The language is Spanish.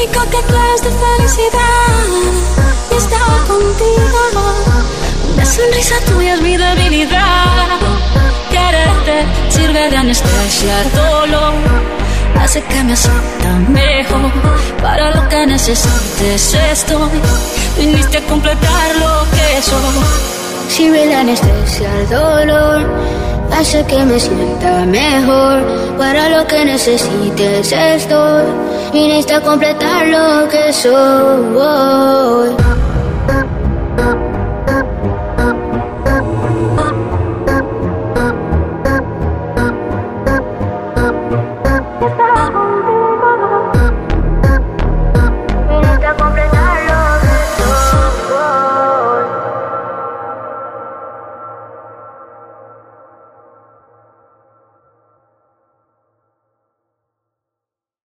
único que quiero es tu felicidad y estar contigo. La sonrisa tuya es mi debilidad. Quererte sirve de anestesia al dolor, hace que me sienta mejor. Para lo que necesites estoy, viniste a completar lo que soy. Sirve de anestesia al dolor, hace que me sienta mejor. Para lo que necesites estoy, viniste a completar lo que soy.